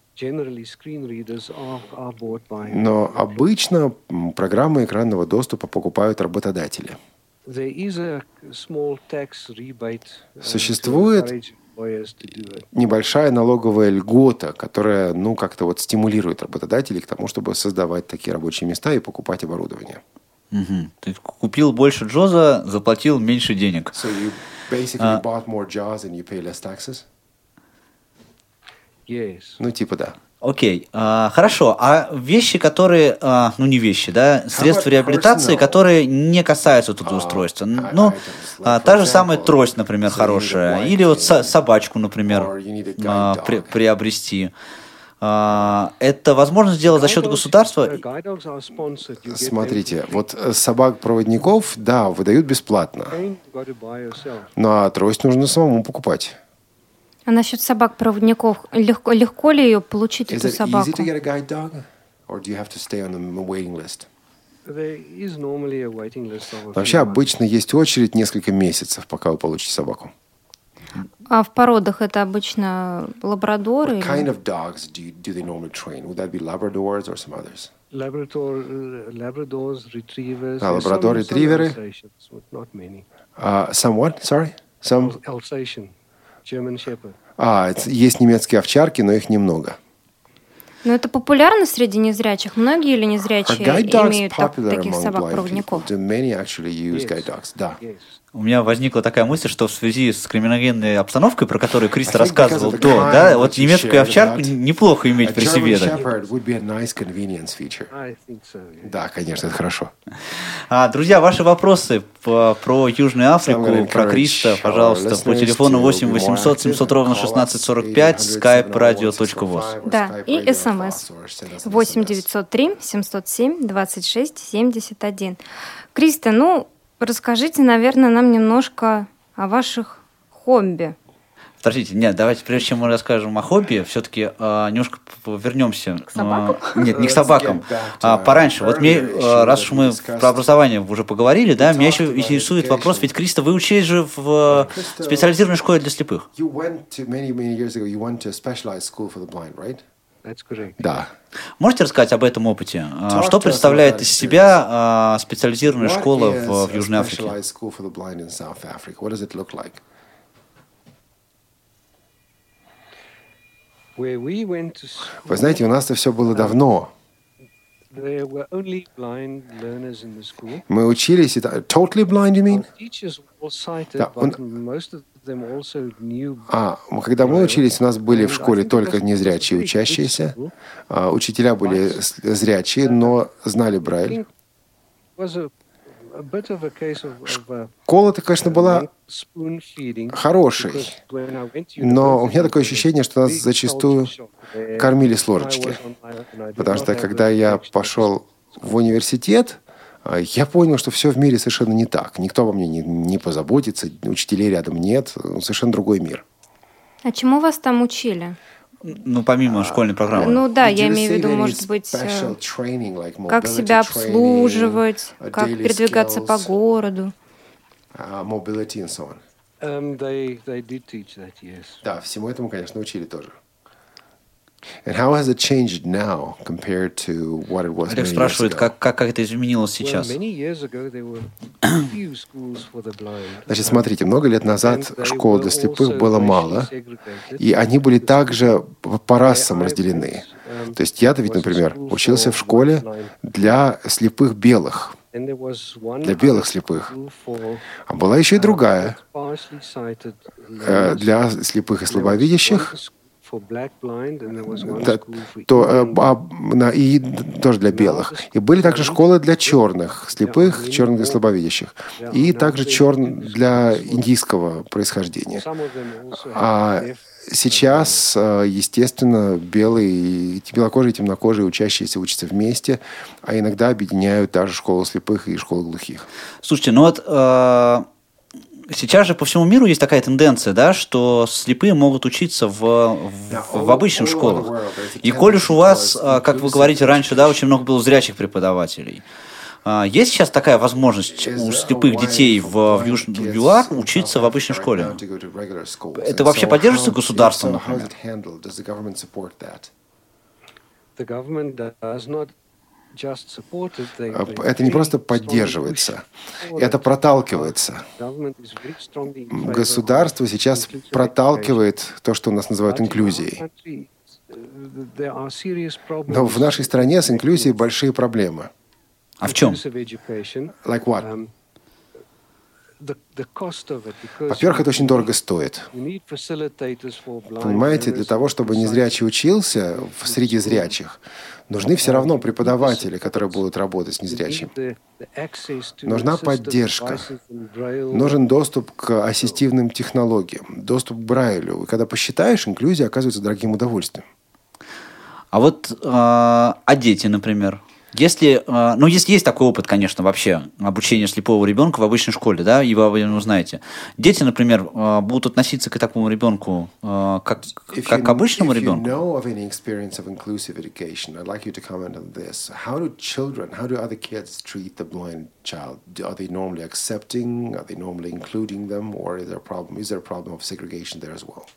Но обычно программы экранного доступа покупают работодатели. Существует небольшая налоговая льгота, которая, как-то вот стимулирует работодателей к тому, чтобы создавать такие рабочие места и покупать оборудование. Угу. Ты купил больше джоза, заплатил меньше денег. So you basically bought more jobs and you pay less taxes? Yes. Типа да. Окей, хорошо. А вещи, которые, не вещи, да, средства реабилитации, которые не касаются трудоустройства. Та же самая трость, например, хорошая. Или вот собачку, например, приобрести. Это возможно сделать за счет государства? Смотрите, вот собак-проводников, да, выдают бесплатно. А трость нужно самому покупать. А насчет собак-проводников, легко ли ее получить, эту собаку? Вообще обычно есть очередь несколько месяцев, пока вы получите собаку. А в породах это обычно лабрадоры? What kind of dogs do they normally train? Would that be Labradors or some others? Labradors, retrievers. Labrador, ретриверы. Some what? Sorry? Some? Alsatian, German Shepherd. Есть немецкие овчарки, но их немного. Но это популярно среди незрячих? Многие или незрячие имеют таких собак-проводников? Да. У меня возникла такая мысль, что в связи с криминогенной обстановкой, про которую Кристо рассказывал вот немецкую овчарку неплохо иметь при себе. Да, конечно, это хорошо. Друзья, ваши вопросы про Южную Африку, про Кристо, пожалуйста, по телефону 8 800 700 ровно 1645, skype-radio.voz. Да, и СМС 8 903 707 26 71. Кристо, расскажите, наверное, нам немножко о ваших хобби. Подождите, нет, давайте, прежде чем мы расскажем о хобби, все-таки немножко вернемся. К собакам? Нет, не к собакам. Пораньше. Вот мне, раз уж мы про образование уже поговорили, да, меня еще интересует вопрос, ведь, Кристо, вы учились же в специализированной школе для слепых. Да. Можете рассказать об этом опыте? Что представляет из себя специализированная школа в Южной Африке? Вы знаете, у нас-то все было давно. Мы учились... Totally blind, you mean? Когда мы учились, у нас были в школе только незрячие учащиеся. Учителя были зрячие, но знали Брайль. Школа-то, конечно, была хорошей, но у меня такое ощущение, что нас зачастую кормили с ложечки. Потому что, когда я пошел в университет, я понял, что все в мире совершенно не так. Никто обо мне не позаботится, учителей рядом нет, совершенно другой мир. А чему вас там учили? Помимо школьной программы. Да, я имею в виду, может быть, как себя обслуживать, как передвигаться по городу. Да, всему этому, конечно, учили тоже. And how has it changed now compared to what it was many years ago? Олег спрашивает, как это изменилось сейчас? Значит, смотрите, много лет назад школ для слепых было мало, и они были также по расам разделены. То есть я-то ведь, например, учился в школе для слепых белых, для белых слепых. А была еще и другая, для слепых и слабовидящих, и тоже для белых. И были также школы для черных, слепых, черных и слабовидящих. И также для индийского происхождения. А сейчас, естественно, белые, белокожие и темнокожие учащиеся учатся вместе, а иногда объединяют даже школу слепых и школу глухих. Слушайте, сейчас же по всему миру есть такая тенденция, да, что слепые могут учиться в обычных школах. И коль уж у вас, как вы говорите раньше, да, очень много было зрячих преподавателей, есть сейчас такая возможность у слепых детей в ЮАР учиться в обычной школе? Это вообще поддерживается государством, например? Это не просто поддерживается, это проталкивается. Государство сейчас проталкивает то, что у нас называют инклюзией. Но в нашей стране с инклюзией большие проблемы. А в чем? Like what? Во-первых, это очень дорого стоит. Понимаете, для того, чтобы незрячий учился среди зрячих, нужны все равно преподаватели, которые будут работать с незрячим. Нужна поддержка. Нужен доступ к ассистивным технологиям, доступ к Брайлю. И когда посчитаешь, инклюзия оказывается дорогим удовольствием. А вот дети, например. Если есть такой опыт, конечно, вообще обучения слепого ребенка в обычной школе, да, и вы узнаете. Дети, например, будут относиться к такому ребенку как к обычному ребенку. How do other kids treat the blind child? Are they normally accepting? Are they normally including them? Or is there a problem? Is there a problem of segregation there as well?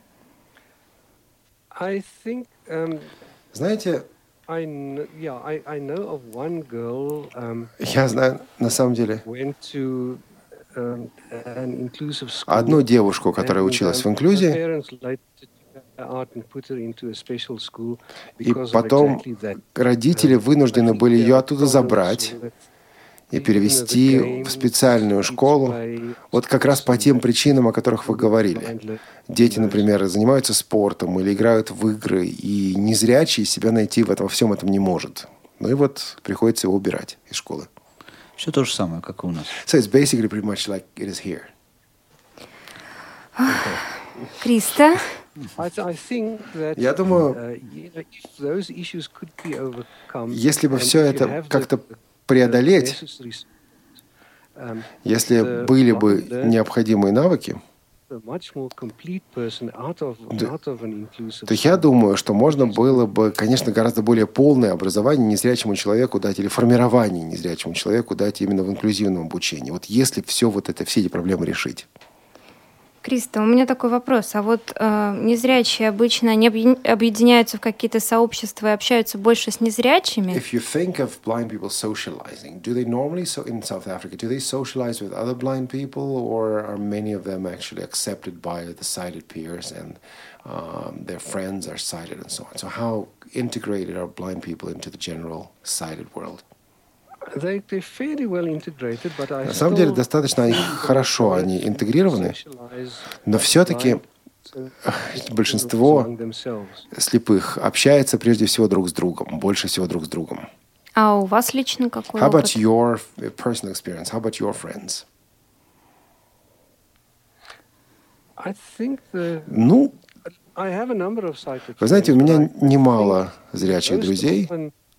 I think. Знаете, I know of one girl. Я знаю, на самом деле, Went to an inclusive school. одну девушку, которая училась в инклюзии, и потом родители вынуждены были ее оттуда забрать и перевести в специальную школу, вот как раз по тем причинам, о которых вы говорили. Дети, например, занимаются спортом или играют в игры, и незрячий себя найти в этом всем этом не может. Ну и вот приходится его убирать из школы. Все то же самое, как и у нас. So it's basically pretty much like it is here. Криста? Я думаю, если бы все это как-то преодолеть, если были бы необходимые навыки, то я думаю, что можно было бы, конечно, гораздо более полное образование незрячему человеку дать, или формирование незрячему человеку дать именно в инклюзивном обучении. Вот если все эти проблемы решить. Криста, у меня такой вопрос. А вот незрячие обычно не объединяются в какие-то сообщества и общаются больше с незрячими? If you think of blind people socializing, do they normally, in South Africa, do they socialize with other blind people, or are many of them actually accepted by the sighted peers and their friends are sighted and so on? So how integrated are blind people into the general sighted world? На самом деле, достаточно хорошо они интегрированы, но все-таки большинство слепых общается прежде всего друг с другом, больше всего друг с другом. А у вас лично какой How опыт? about your personal experience? How about your friends? Ну, вы знаете, у меня немало зрячих друзей,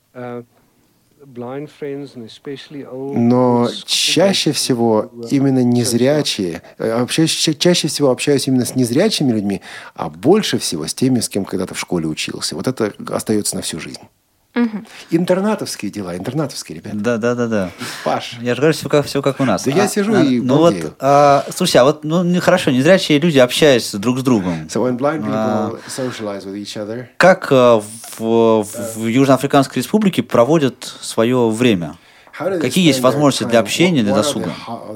но чаще всего именно незрячие, вообще чаще всего общаюсь именно с незрячими людьми, а больше всего с теми, с кем когда-то в школе учился. Вот это остается на всю жизнь. Интернатовские дела, интернатовские ребята. Да. Паш. Я же говорю, все как у нас. Да я сижу и балдею. Слушай, хорошо, незрячие люди общаются друг с другом. So when blind people socialize with each other, как в Южноафриканской Республике проводят свое время? Какие есть возможности для общения, для досуга?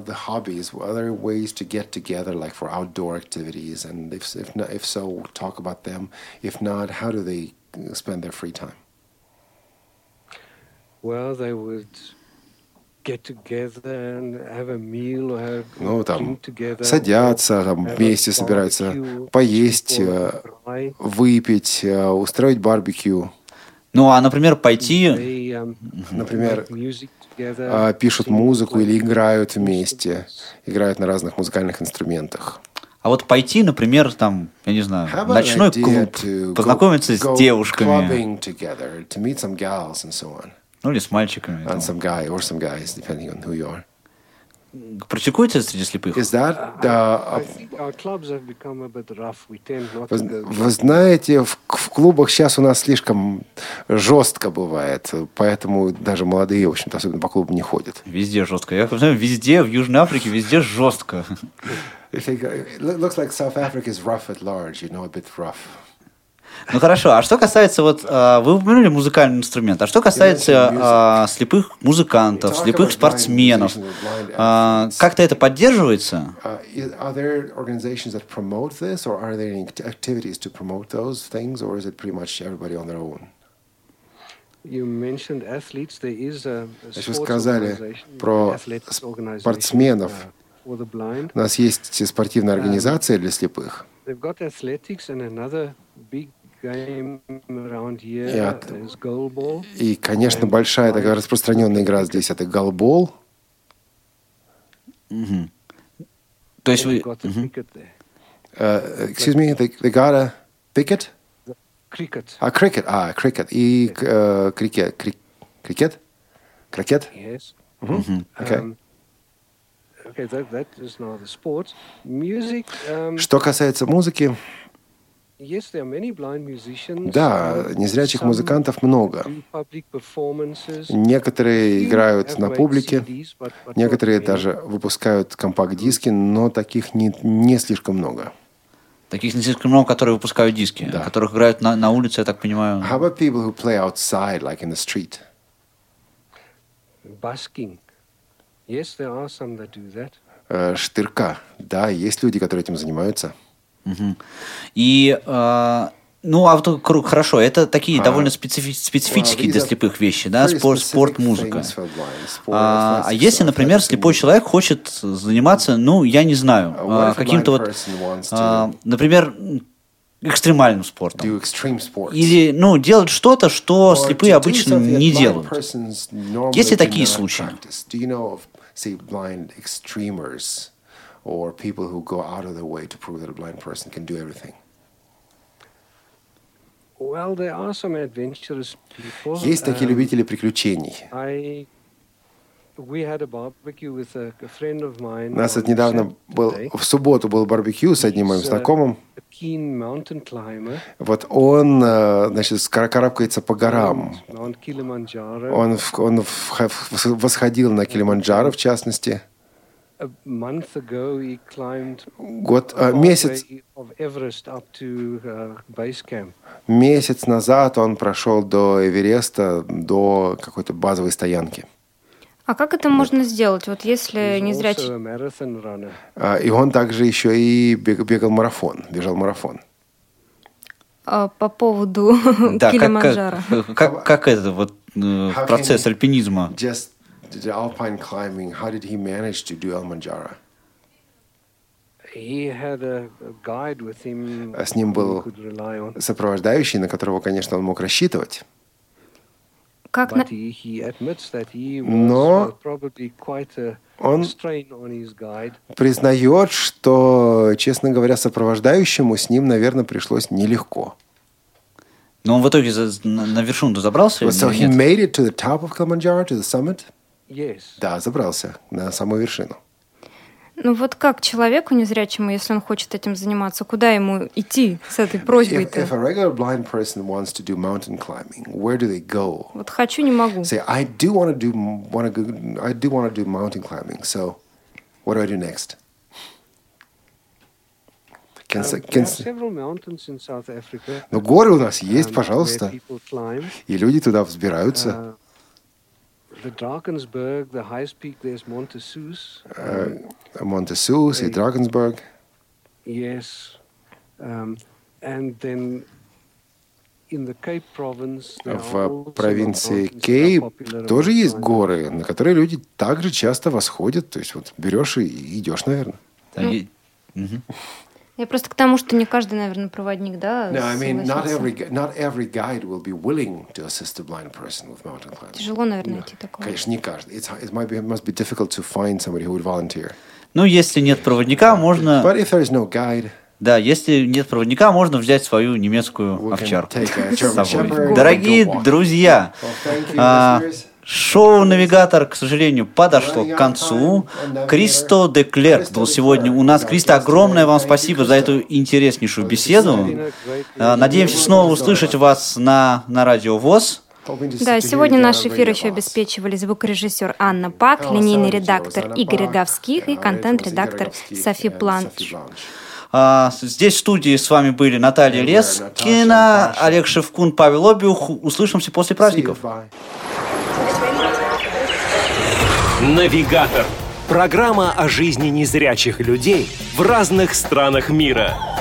Ну, там, садятся, там, вместе собираются поесть, выпить, устроить барбекю. Ну, а, например, пойти... Например, пишут музыку или играют вместе, играют на разных музыкальных инструментах. А вот пойти, например, там, я не знаю, в ночной клуб, познакомиться с девушками. Ну, или с мальчиками. Some guy or some guys, depending on who you are. Практикуется среди слепых? Вы знаете, в клубах сейчас у нас слишком жестко бывает, поэтому даже молодые, в общем-то, особенно по клубам не ходят. Везде жестко. Я знаю, везде, в Южной Африке, везде жестко. It looks like South Africa is rough at large, a bit rough. Ну хорошо, а что касается, вот вы упомянули музыкальный инструмент, а что касается слепых музыкантов, слепых спортсменов, как-то это поддерживается? Are there organizations that promote this, or are there any activities to promote those things, or is it pretty much everybody on their own? You mentioned athletes. There is a Вы сказали про спортсменов. У нас есть спортивная организация для слепых. They've got athletics and another big game around here is goalball. И, конечно, большая такая распространенная игра здесь — это голбол. То есть вы... Excuse me, they got a picket? Cricket. Cricket. Cricket. И крикет. Крикет? Крикет? Yes. Okay. Okay, that is now the sport. Music. Что касается музыки, Yes, there are many blind musicians. да, незрячих музыкантов много. Некоторые играют на публике, некоторые даже выпускают компакт-диски, но таких не слишком много. Таких не слишком много, которые выпускают диски, Да. которых играют на улице, я так понимаю. How about people who play outside, like in the street? Busking. Yes, there are some that do that. Штырка. Да, есть люди, которые этим занимаются. И, ну, а вот хорошо, это такие довольно специфические для слепых вещи, да, спорт, музыка. А если, например, слепой человек хочет заниматься, ну, я не знаю, каким-то вот, например, экстремальным спортом. Или, ну, делать что-то, что слепые обычно не делают. Есть ли такие случаи? Or people who go out of their way to prove that a blind person can do everything. Well, there are some adventurous people. Есть такие любители приключений. We had a barbecue with a friend of mine. У нас недавно в субботу был барбекю с одним моим знакомым. Вот он, значит, карабкается по горам. Он восходил на Килиманджаро, в частности. Месяц назад он прошел до Эвереста, до какой-то базовой стоянки. А как это можно сделать, вот если незрячий... И он также еще и бежал марафон. По поводу Килиманджаро. Как это вот процесс альпинизма? The alpine climbing, how did he manage to do Kilimanjaro? С ним был сопровождающий, на которого, конечно, он мог рассчитывать. Но он признает, что, честно говоря, сопровождающему с ним, наверное, пришлось нелегко. Но он в итоге на вершину забрался? So he made it to the top of Kilimanjaro, to the summit? Yes. Да, забрался на самую вершину. Ну вот как человеку незрячему, если он хочет этим заниматься, куда ему идти с этой просьбой-то? If a regular blind person wants to do mountain climbing, where do they go? Вот хочу, не могу. Say, I do want to do mountain climbing. So, what do I do next? Но горы у нас есть, пожалуйста, и люди туда взбираются. The highest peak there's Montezous. Montezous и Drakensberg. Yes. And then in the Cape province, в провинции Кейп тоже есть горы, на которые люди также часто восходят. То есть вот берешь и идешь, наверное. Я просто к тому, что не каждый, наверное, проводник, да? No, I mean, not every guide will be willing to assist a blind person with mountain climbing. Тяжело, наверное, найти такого. Конечно, не каждый. It must be difficult to find somebody who would volunteer. Ну, если нет проводника, можно... But if there is no guide, да, если нет проводника, можно взять свою немецкую овчарку с собой. Дорогие друзья, шоу-навигатор, к сожалению, подошло к концу. Кристо де Клерк был сегодня у нас. Кристо, огромное вам спасибо за эту интереснейшую беседу. Надеемся снова услышать вас на Радио ВОС. Да, сегодня наш эфир еще обеспечивали звукорежиссер Анна Пак, линейный редактор Игорь Роговских и контент-редактор Софи Планш. Здесь в студии с вами были Наталья Лескина, Олег Шевкун, Павел Обиух. Услышимся после праздников. Навигатор. Программа о жизни незрячих людей в разных странах мира.